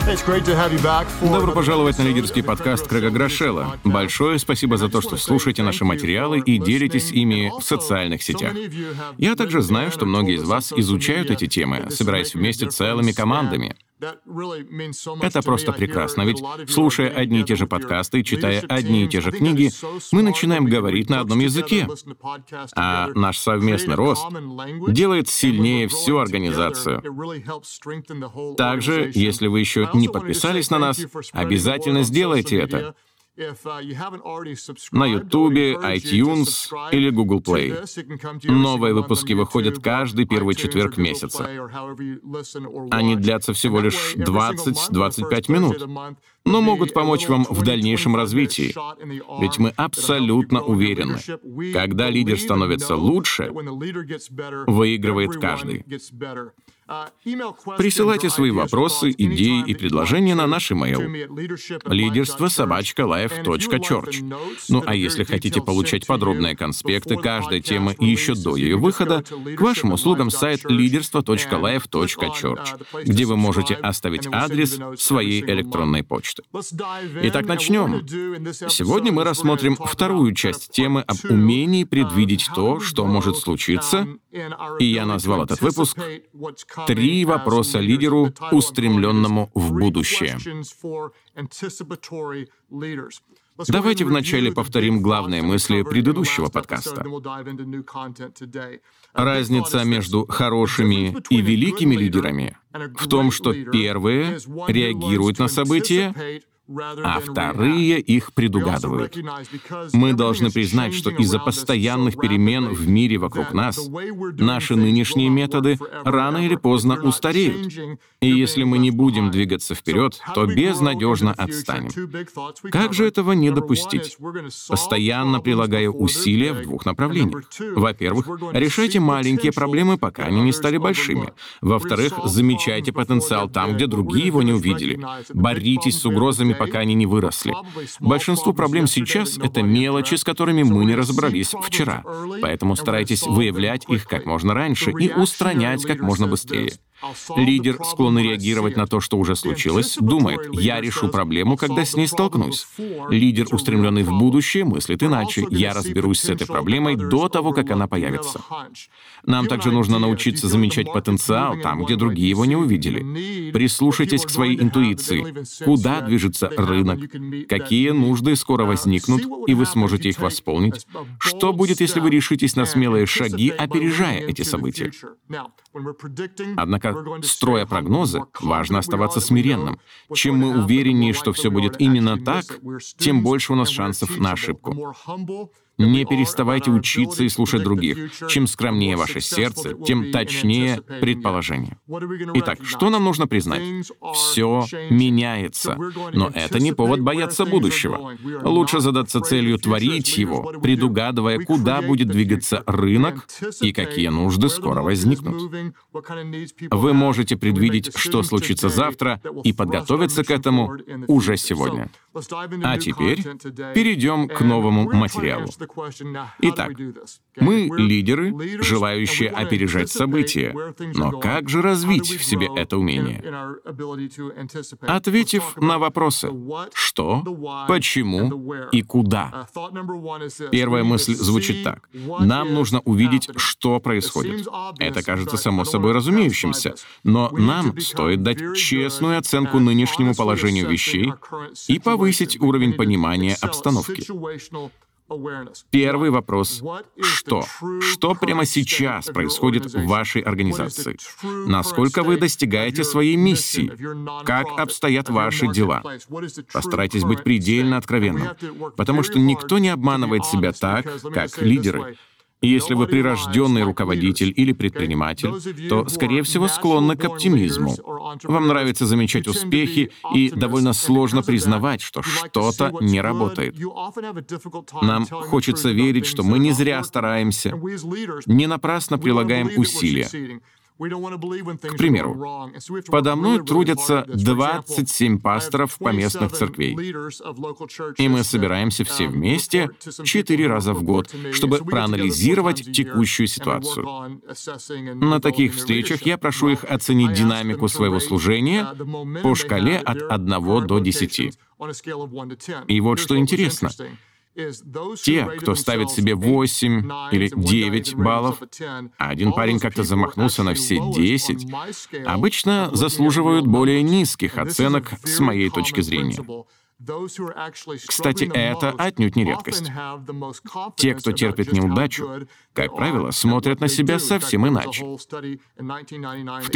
Добро пожаловать на лидерский подкаст Крэга Грошелла. Большое спасибо за то, что слушаете наши материалы и делитесь ими в социальных сетях. Я также знаю, что многие из вас изучают эти темы, собираясь вместе целыми командами. Это просто прекрасно, ведь, слушая одни и те же подкасты и читая одни и те же книги, мы начинаем говорить на одном языке. А наш совместный рост делает сильнее всю организацию. Также, если вы еще не подписались на нас, обязательно сделайте это. На Ютубе, iTunes или Google Play. Новые выпуски выходят каждый первый четверг месяца. Они длятся всего лишь 20-25 минут, но могут помочь вам в дальнейшем развитии. Ведь мы абсолютно уверены, когда лидер становится лучше, выигрывает каждый. Присылайте свои вопросы, идеи и предложения на наш имейл leaderство@life.church. Ну а если хотите получать подробные конспекты каждой темы и еще до ее выхода, к вашим услугам сайт leaderство.life.church, где вы можете оставить адрес своей электронной почты. Итак, начнем. Сегодня мы рассмотрим вторую часть темы об умении предвидеть то, что может случиться, и я назвал этот выпуск «Три вопроса лидеру, устремленному в будущее». Давайте вначале повторим главные мысли предыдущего подкаста. Разница между хорошими и великими лидерами в том, что первые реагируют на события, а вторые их предугадывают. Мы должны признать, что из-за постоянных перемен в мире вокруг нас наши нынешние методы рано или поздно устареют. И если мы не будем двигаться вперед, то безнадежно отстанем. Как же этого не допустить? Постоянно прилагая усилия в двух направлениях. Во-первых, решайте маленькие проблемы, пока они не стали большими. Во-вторых, замечайте потенциал там, где другие его не увидели. Боритесь с угрозами, пока они не выросли. Большинство проблем сейчас — это мелочи, с которыми мы не разобрались вчера. Поэтому старайтесь выявлять их как можно раньше и устранять как можно быстрее. Лидер, склонный реагировать на то, что уже случилось, думает: «Я решу проблему, когда с ней столкнусь». Лидер, устремленный в будущее, мыслит иначе: «Я разберусь с этой проблемой до того, как она появится». Нам также нужно научиться замечать потенциал там, где другие его не увидели. Прислушайтесь к своей интуиции. Куда движется рынок? Какие нужды скоро возникнут, и вы сможете их восполнить? Что будет, если вы решитесь на смелые шаги, опережая эти события? Однако, строя прогнозы, важно оставаться смиренным. Чем мы увереннее, что все будет именно так, тем больше у нас шансов на ошибку. Не переставайте учиться и слушать других. Чем скромнее ваше сердце, тем точнее предположение. Итак, что нам нужно признать? Все меняется. Но это не повод бояться будущего. Лучше задаться целью творить его, предугадывая, куда будет двигаться рынок и какие нужды скоро возникнут. Вы можете предвидеть, что случится завтра, и подготовиться к этому уже сегодня. А теперь перейдем к новому материалу. Итак, мы лидеры, желающие опережать события. Но как же развить в себе это умение? Ответив на вопросы «что?», «почему?» и «куда?». Первая мысль звучит так. Нам нужно увидеть, что происходит. Это кажется само собой разумеющимся, но нам стоит дать честную оценку нынешнему положению вещей и повысить уровень понимания обстановки. Первый вопрос — что? Что прямо сейчас происходит в вашей организации? Насколько вы достигаете своей миссии? Как обстоят ваши дела? Постарайтесь быть предельно откровенным, потому что никто не обманывает себя так, как лидеры. И если вы прирожденный руководитель или предприниматель, то, скорее всего, склонны к оптимизму. Вам нравится замечать успехи, и довольно сложно признавать, что что-то не работает. Нам хочется верить, что мы не зря стараемся, не напрасно прилагаем усилия. К примеру, подо мной трудятся 27 пасторов поместных церквей, и мы собираемся все вместе 4 раза в год, чтобы проанализировать текущую ситуацию. На таких встречах я прошу их оценить динамику своего служения по шкале от 1 до 10. И вот что интересно. Те, кто ставит себе 8 или 9 баллов, а один парень как-то замахнулся на все 10, обычно заслуживают более низких оценок с моей точки зрения. Кстати, это отнюдь не редкость. Те, кто терпит неудачу, как правило, смотрят на себя совсем иначе. В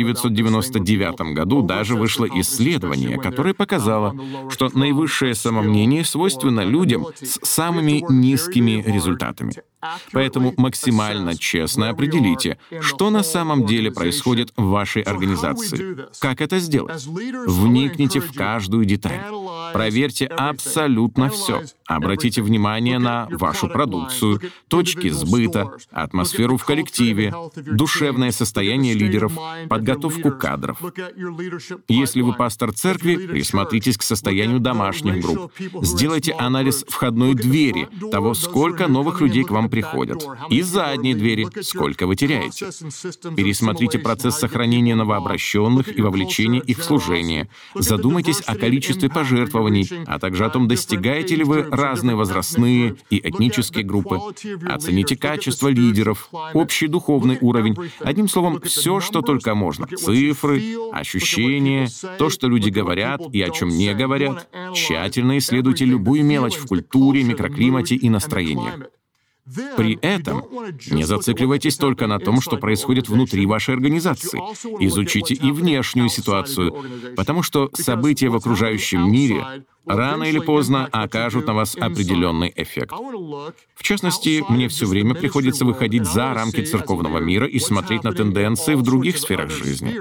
1999 году даже вышло исследование, которое показало, что наивысшее самомнение свойственно людям с самыми низкими результатами. Поэтому максимально честно определите, что на самом деле происходит в вашей организации. Как это сделать? Вникните в каждую деталь. Проверьте абсолютно все. Обратите внимание на вашу продукцию, точки сбыта, атмосферу в коллективе, душевное состояние лидеров, подготовку кадров. Если вы пастор церкви, присмотритесь к состоянию домашних групп. Сделайте анализ входной двери, того, сколько новых людей к вам приходят, и задней двери, сколько вы теряете. Пересмотрите процесс сохранения новообращенных и вовлечения их в служение. Задумайтесь о количестве пожертвований, а также о том, достигаете ли вы разные возрастные и этнические группы. Оцените качество лидеров, общий духовный уровень. Одним словом, все, что только можно. Цифры, ощущения, то, что люди говорят и о чем не говорят. Тщательно исследуйте любую мелочь в культуре, микроклимате и настроениях. При этом не зацикливайтесь только на том, что происходит внутри вашей организации. Изучите и внешнюю ситуацию, потому что события в окружающем мире рано или поздно окажут на вас определенный эффект. В частности, мне все время приходится выходить за рамки церковного мира и смотреть на тенденции в других сферах жизни.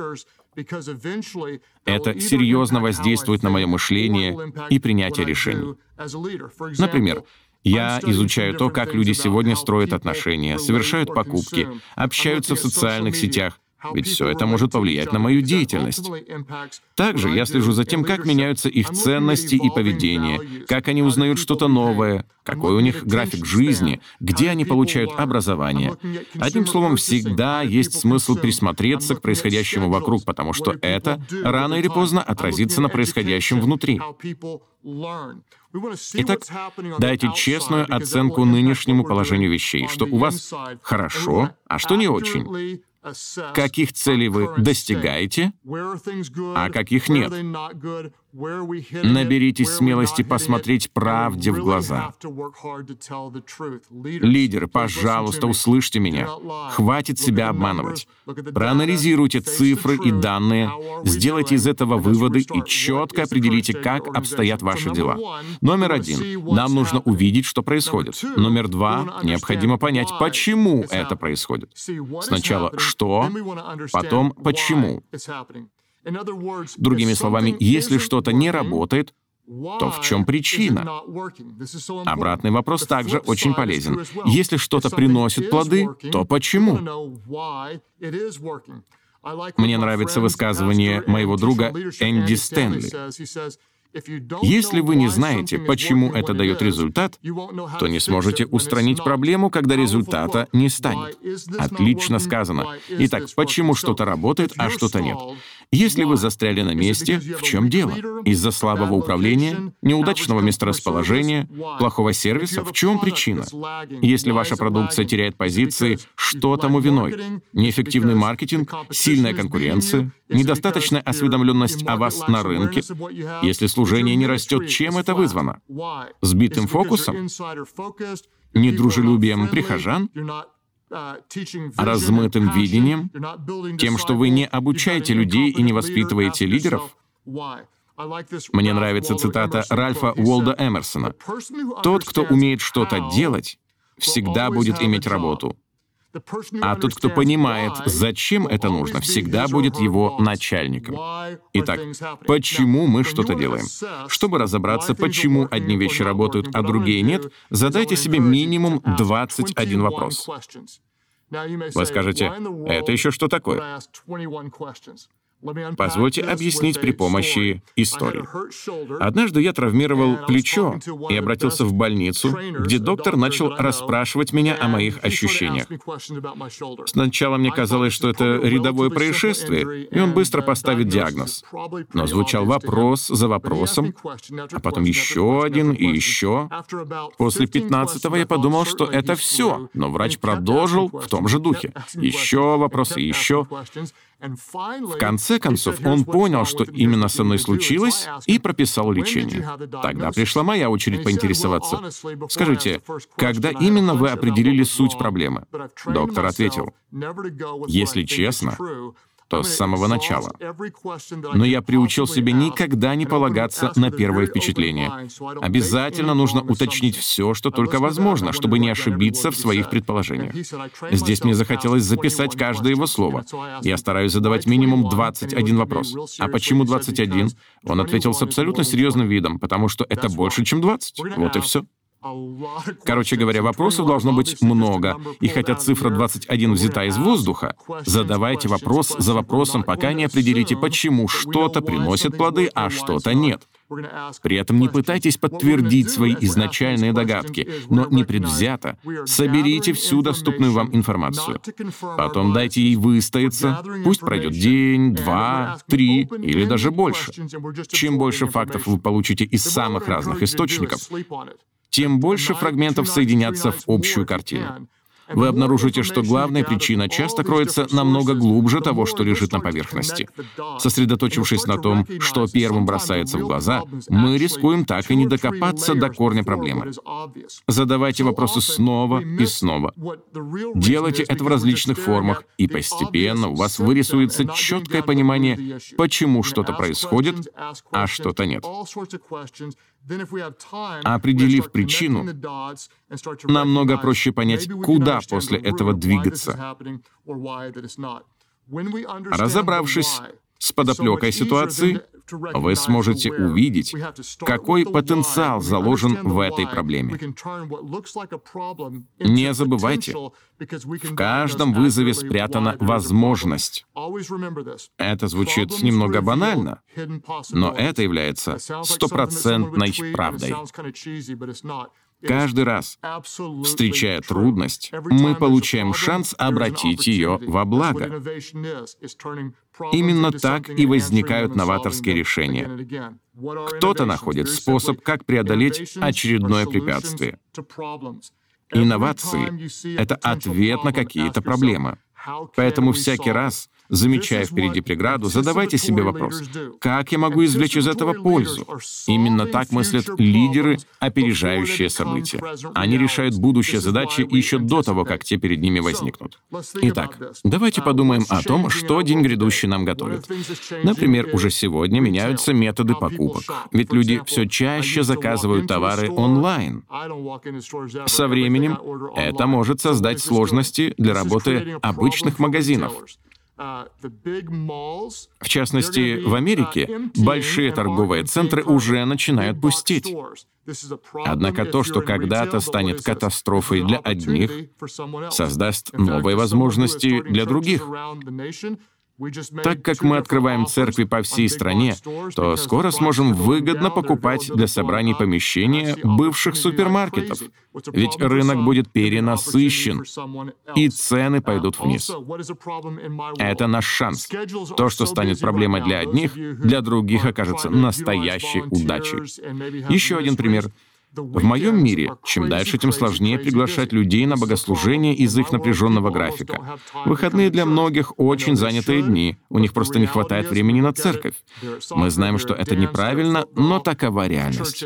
Это серьезно воздействует на мое мышление и принятие решений. Например, я изучаю то, как люди сегодня строят отношения, совершают покупки, общаются в социальных сетях, ведь все это может повлиять на мою деятельность. Также я слежу за тем, как меняются их ценности и поведение, как они узнают что-то новое, какой у них график жизни, где они получают образование. Одним словом, всегда есть смысл присмотреться к происходящему вокруг, потому что это рано или поздно отразится на происходящем внутри. Итак, дайте честную оценку нынешнему положению вещей, что у вас хорошо, а что не очень. Каких целей вы достигаете, а каких нет. Наберитесь смелости посмотреть правде в глаза. Лидеры, пожалуйста, услышьте меня. Хватит себя обманывать. Проанализируйте цифры и данные, сделайте из этого выводы и четко определите, как обстоят ваши дела. Номер 1. Нам нужно увидеть, что происходит. Номер 2. Необходимо понять, почему это происходит. Сначала что, потом почему. Другими словами, если что-то не работает, то в чем причина? Обратный вопрос также очень полезен. Если что-то приносит плоды, то почему? Мне нравится высказывание моего друга Энди Стэнли. Если вы не знаете, почему это дает результат, то не сможете устранить проблему, когда результата не станет. Отлично сказано. Итак, почему что-то работает, а что-то нет? Если вы застряли на месте, в чем дело? Из-за слабого управления, неудачного месторасположения, плохого сервиса? В чем причина? Если ваша продукция теряет позиции, что тому виной? Неэффективный маркетинг, сильная конкуренция, недостаточная осведомленность о вас на рынке? Если служение не растет, чем это вызвано? Сбитым фокусом? Недружелюбием прихожан? Размытым видением? Тем, что вы не обучаете людей и не воспитываете лидеров? Мне нравится цитата Ральфа Уолда Эмерсона. «Тот, кто умеет что-то делать, всегда будет иметь работу. А тот, кто понимает, зачем это нужно, всегда будет его начальником». Итак, почему мы что-то делаем? Чтобы разобраться, почему одни вещи работают, а другие нет, задайте себе минимум 21 вопрос. Вы скажете, это еще что такое? Позвольте объяснить при помощи истории. Однажды я травмировал плечо и обратился в больницу, где доктор начал расспрашивать меня о моих ощущениях. Сначала мне казалось, что это рядовое происшествие, и он быстро поставит диагноз. Но звучал вопрос за вопросом, а потом еще один и еще. После 15-го я подумал, что это все, но врач продолжил в том же духе. Еще вопросы, еще. В конце концов, он понял, что именно со мной случилось, и прописал лечение. Тогда пришла моя очередь поинтересоваться. «Скажите, когда именно вы определили суть проблемы?» Доктор ответил, «Если честно, то с самого начала. Но я приучил себя никогда не полагаться на первое впечатление. Обязательно нужно уточнить все, что только возможно, чтобы не ошибиться в своих предположениях. Здесь мне захотелось записать каждое его слово. Я стараюсь задавать минимум 21 вопрос. А почему 21? Он ответил с абсолютно серьезным видом, потому что это больше, чем 20. Вот и все. Короче говоря, вопросов должно быть много, и хотя цифра 21 взята из воздуха, задавайте вопрос за вопросом, пока не определите, почему что-то приносит плоды, а что-то нет. При этом не пытайтесь подтвердить свои изначальные догадки, но непредвзято соберите всю доступную вам информацию. Потом дайте ей выстояться, пусть пройдет день, 2, 3 или даже больше. Чем больше фактов вы получите из самых разных источников, тем больше фрагментов соединятся в общую картину. Вы обнаружите, что главная причина часто кроется намного глубже того, что лежит на поверхности. Сосредоточившись на том, что первым бросается в глаза, мы рискуем так и не докопаться до корня проблемы. Задавайте вопросы снова и снова. Делайте это в различных формах, и постепенно у вас вырисуется четкое понимание, почему что-то происходит, а что-то нет. Определив причину, намного проще понять, куда после этого двигаться. Разобравшись с подоплекой ситуации, вы сможете увидеть, какой потенциал заложен в этой проблеме. Не забывайте, в каждом вызове спрятана возможность. Это звучит немного банально, но это является стопроцентной правдой. Каждый раз, встречая трудность, мы получаем шанс обратить ее во благо. Именно так и возникают новаторские решения. Кто-то находит способ, как преодолеть очередное препятствие. Инновации — это ответ на какие-то проблемы. Поэтому всякий раз, замечая впереди преграду, задавайте себе вопрос: как я могу извлечь из этого пользу? Именно так мыслят лидеры, опережающие события. Они решают будущие задачи еще до того, как те перед ними возникнут. Итак, давайте подумаем о том, что день грядущий нам готовит. Например, уже сегодня меняются методы покупок, ведь люди все чаще заказывают товары онлайн. Со временем это может создать сложности для работы обычных магазинов. В частности, в Америке большие торговые центры уже начинают пустеть. Однако то, что когда-то станет катастрофой для одних, создаст новые возможности для других. Так как мы открываем церкви по всей стране, то скоро сможем выгодно покупать для собраний помещения бывших супермаркетов. Ведь рынок будет перенасыщен, и цены пойдут вниз. Это наш шанс. То, что станет проблемой для одних, для других окажется настоящей удачей. Еще один пример. В моем мире, чем дальше, тем сложнее приглашать людей на богослужение из их напряженного графика. Выходные для многих очень занятые дни, у них просто не хватает времени на церковь. Мы знаем, что это неправильно, но такова реальность.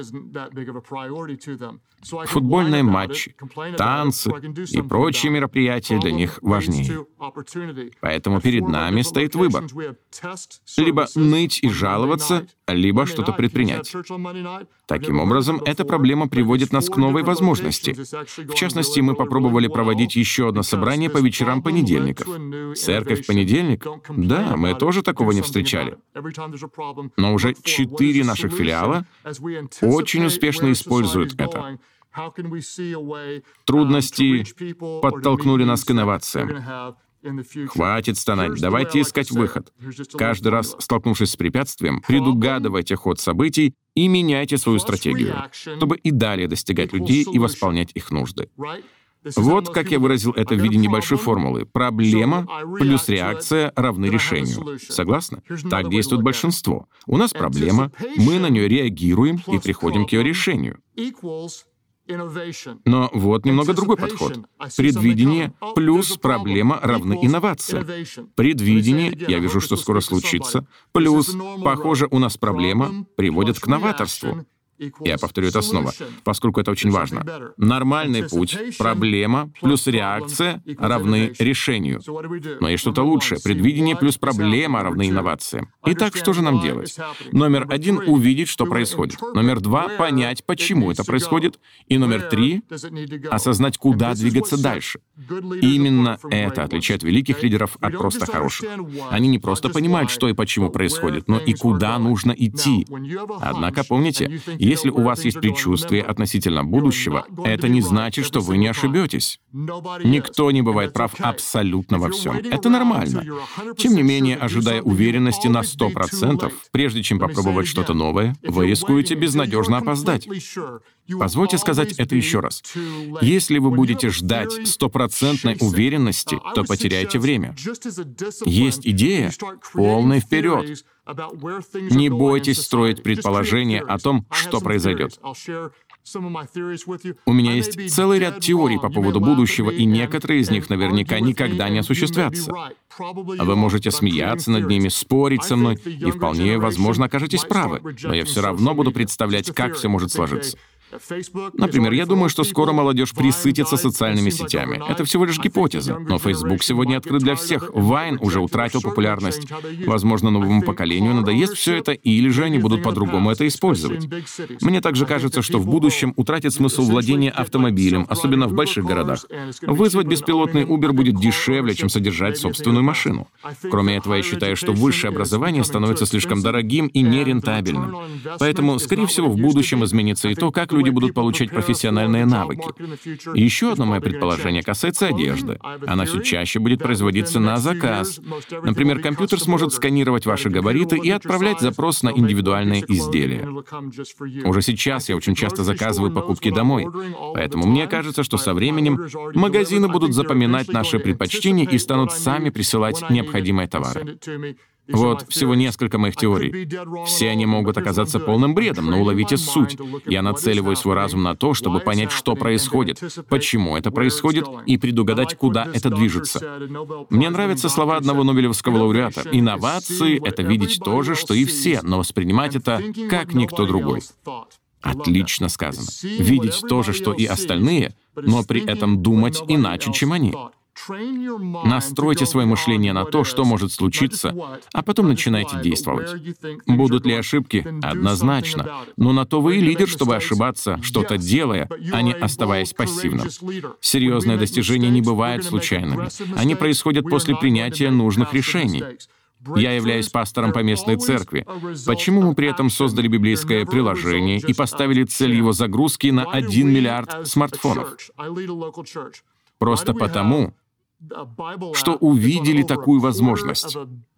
Футбольные матчи, танцы и прочие мероприятия для них важнее. Поэтому перед нами стоит выбор. Либо ныть и жаловаться, либо что-то предпринять. Таким образом, эта проблема приводит нас к новой возможности. В частности, мы попробовали проводить еще одно собрание по вечерам понедельников. Церковь в понедельник? Да, мы тоже такого не встречали. Но уже 4 наших филиала очень успешно используют это. Трудности подтолкнули нас к инновациям. Хватит стонать, давайте искать выход. Каждый раз, столкнувшись с препятствием, предугадывайте ход событий и меняйте свою стратегию, чтобы и далее достигать людей и восполнять их нужды. Вот как я выразил это в виде небольшой формулы. Проблема плюс реакция равны решению. Согласны? Так действует большинство. У нас проблема, мы на нее реагируем и приходим к ее решению. Но вот немного другой подход. Предвидение плюс проблема равны инновациям. Предвидение, я вижу, что скоро случится, плюс, похоже, у нас проблема, приводит к новаторству. Я повторю это снова, поскольку это очень важно. Нормальный путь, проблема плюс реакция равны решению. Но есть что-то лучшее. Предвидение плюс проблема равны инновациям. Итак, что же нам делать? Номер 1 — увидеть, что происходит. Номер 2 — понять, почему это происходит. И номер 3 — осознать, куда двигаться дальше. И именно это отличает великих лидеров от просто хороших. Они не просто понимают, что и почему происходит, но и куда нужно идти. Однако помните, если у вас есть предчувствие относительно будущего, это не значит, что вы не ошибетесь. Никто не бывает прав абсолютно во всем. Это нормально. Тем не менее, ожидая уверенности на 100%, прежде чем попробовать что-то новое, вы рискуете безнадежно опоздать. Позвольте сказать это еще раз. Если вы будете ждать стопроцентной уверенности, то потеряете время. Есть идея — полный вперед. Не бойтесь строить предположения о том, что произойдет. У меня есть целый ряд теорий по поводу будущего, и некоторые из них наверняка никогда не осуществятся. Вы можете смеяться над ними, спорить со мной, и вполне возможно окажетесь правы, но я все равно буду представлять, как все может сложиться. Например, я думаю, что скоро молодежь присытится социальными сетями. Это всего лишь гипотеза, но Facebook сегодня открыт для всех. Vine уже утратил популярность. Возможно, новому поколению надоест все это, или же они будут по-другому это использовать. Мне также кажется, что в будущем утратит смысл владение автомобилем, особенно в больших городах. Вызвать беспилотный Uber будет дешевле, чем содержать собственную машину. Кроме этого, я считаю, что высшее образование становится слишком дорогим и нерентабельным. Поэтому, скорее всего, в будущем изменится и то, как люди будут получать профессиональные навыки. И еще одно мое предположение касается одежды. Она все чаще будет производиться на заказ. Например, компьютер сможет сканировать ваши габариты и отправлять запрос на индивидуальные изделия. Уже сейчас я очень часто заказываю покупки домой, поэтому мне кажется, что со временем магазины будут запоминать наши предпочтения и станут сами присылать необходимые товары. Вот всего несколько моих теорий. Все они могут оказаться полным бредом, но уловите суть. Я нацеливаю свой разум на то, чтобы понять, что происходит, почему это происходит, и предугадать, куда это движется. Мне нравятся слова одного нобелевского лауреата. Инновации — это видеть то же, что и все, но воспринимать это как никто другой. Отлично сказано. Видеть то же, что и остальные, но при этом думать иначе, чем они. Настройте свое мышление на то, что может случиться, а потом начинайте действовать. Будут ли ошибки? Однозначно. Но на то вы и лидер, чтобы ошибаться, что-то делая, а не оставаясь пассивным. Серьезные достижения не бывают случайными. Они происходят после принятия нужных решений. Я являюсь пастором поместной церкви. Почему мы при этом создали библейское приложение и поставили цель его загрузки на 1 миллиард смартфонов? Просто потому, что увидели такую возможность.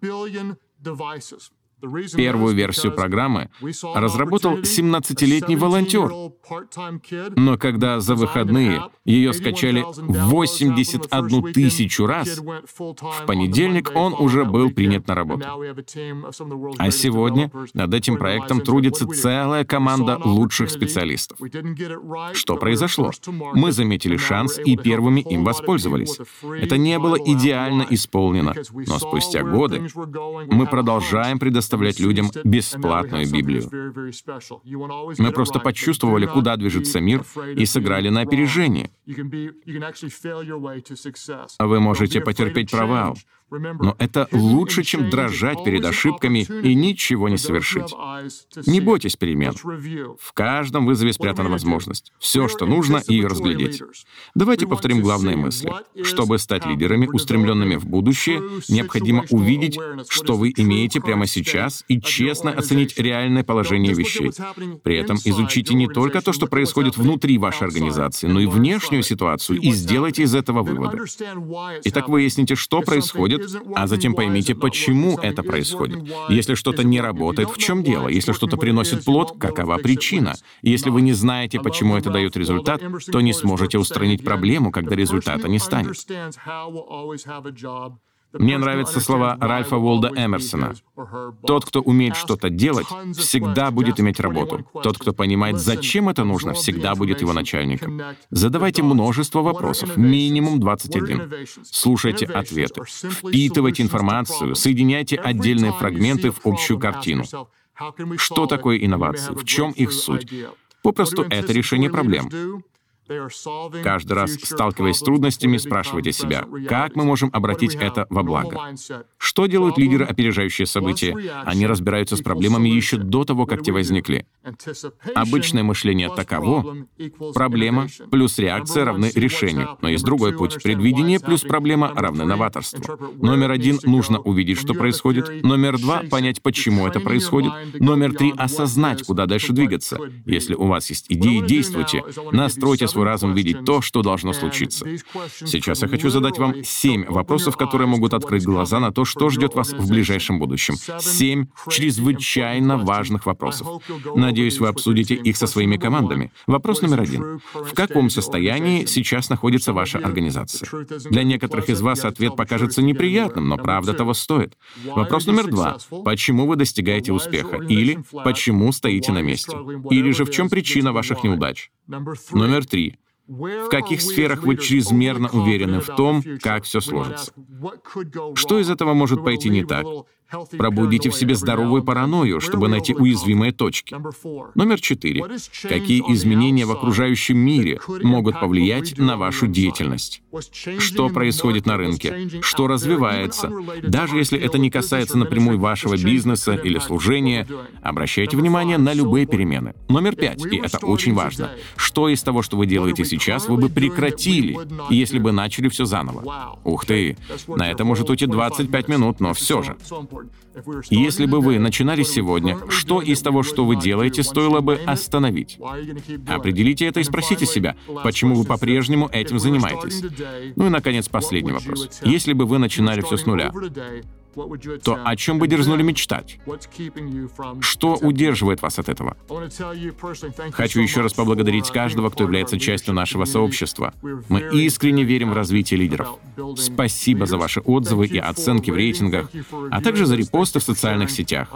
Первую версию программы разработал 17-летний волонтер. Но когда за выходные ее скачали 81 тысячу раз, в понедельник он уже был принят на работу. А сегодня над этим проектом трудится целая команда лучших специалистов. Что произошло? Мы заметили шанс и первыми им воспользовались. Это не было идеально исполнено, но спустя годы мы продолжаем предоставлять людям бесплатную Библию. Мы просто почувствовали, куда движется мир, и сыграли на опережение. Вы можете потерпеть провал. Но это лучше, чем дрожать перед ошибками и ничего не совершить. Не бойтесь перемен. В каждом вызове спрятана возможность. Все, что нужно, ее разглядеть. Давайте повторим главные мысли. Чтобы стать лидерами, устремленными в будущее, необходимо увидеть, что вы имеете прямо сейчас, и честно оценить реальное положение вещей. При этом изучите не только то, что происходит внутри вашей организации, но и внешнюю ситуацию, и сделайте из этого выводы. Итак, выясните, что происходит, а затем поймите, почему это происходит. Если что-то не работает, в чем дело? Если что-то приносит плод, какова причина? Если вы не знаете, почему это дает результат, то не сможете устранить проблему, когда результата не станет. Мне нравятся слова Ральфа Уолда Эмерсона. «Тот, кто умеет что-то делать, всегда будет иметь работу. Тот, кто понимает, зачем это нужно, всегда будет его начальником». Задавайте множество вопросов, минимум 21. Слушайте ответы, впитывайте информацию, соединяйте отдельные фрагменты в общую картину. Что такое инновации? В чем их суть? Попросту это решение проблем. Каждый раз, сталкиваясь с трудностями, спрашивайте себя, как мы можем обратить это во благо? Что делают лидеры, опережающие события? Они разбираются с проблемами еще до того, как те возникли. Обычное мышление таково: проблема плюс реакция равны решению. Но есть другой путь. Предвидение плюс проблема равны новаторству. Номер 1 — нужно увидеть, что происходит. Номер 2 — понять, почему это происходит. Номер 3 — осознать, куда дальше двигаться. Если у вас есть идеи, действуйте. Настройте свой разум видеть то, что должно случиться. Сейчас я хочу задать вам 7 вопросов, которые могут открыть глаза на то, что ждет вас в ближайшем будущем. 7 чрезвычайно важных вопросов. Надеюсь, вы обсудите их со своими командами. Вопрос номер 1. В каком состоянии сейчас находится ваша организация? Для некоторых из вас ответ покажется неприятным, но правда того стоит. Вопрос номер 2. Почему вы достигаете успеха? Или почему стоите на месте? Или же в чем причина ваших неудач? Номер 3. В каких сферах вы чрезмерно уверены в том, как все сложится? Что из этого может пойти не так? Пробудите в себе здоровую паранойю, чтобы найти уязвимые точки. Номер 4. Какие изменения в окружающем мире могут повлиять на вашу деятельность? Что происходит на рынке? Что развивается? Даже если это не касается напрямую вашего бизнеса или служения, обращайте внимание на любые перемены. Номер 5, и это очень важно. Что из того, что вы делаете сейчас, вы бы прекратили, если бы начали все заново? Ух ты! На это может уйти 25 минут, но все же. Если бы вы начинали сегодня, что из того, что вы делаете, стоило бы остановить? Определите это и спросите себя, почему вы по-прежнему этим занимаетесь. Ну и, наконец, последний вопрос. Если бы вы начинали все с нуля, то о чем бы дерзнули мечтать? Что удерживает вас от этого? Хочу еще раз поблагодарить каждого, кто является частью нашего сообщества. Мы искренне верим в развитие лидеров. Спасибо за ваши отзывы и оценки в рейтингах, а также за репосты в социальных сетях.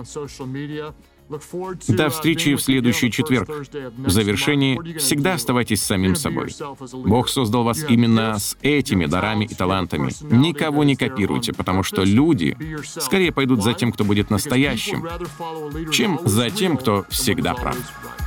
До встречи в следующий четверг. В завершении всегда оставайтесь самим собой. Бог создал вас именно с этими дарами и талантами. Никого не копируйте, потому что люди скорее пойдут за тем, кто будет настоящим, чем за тем, кто всегда прав.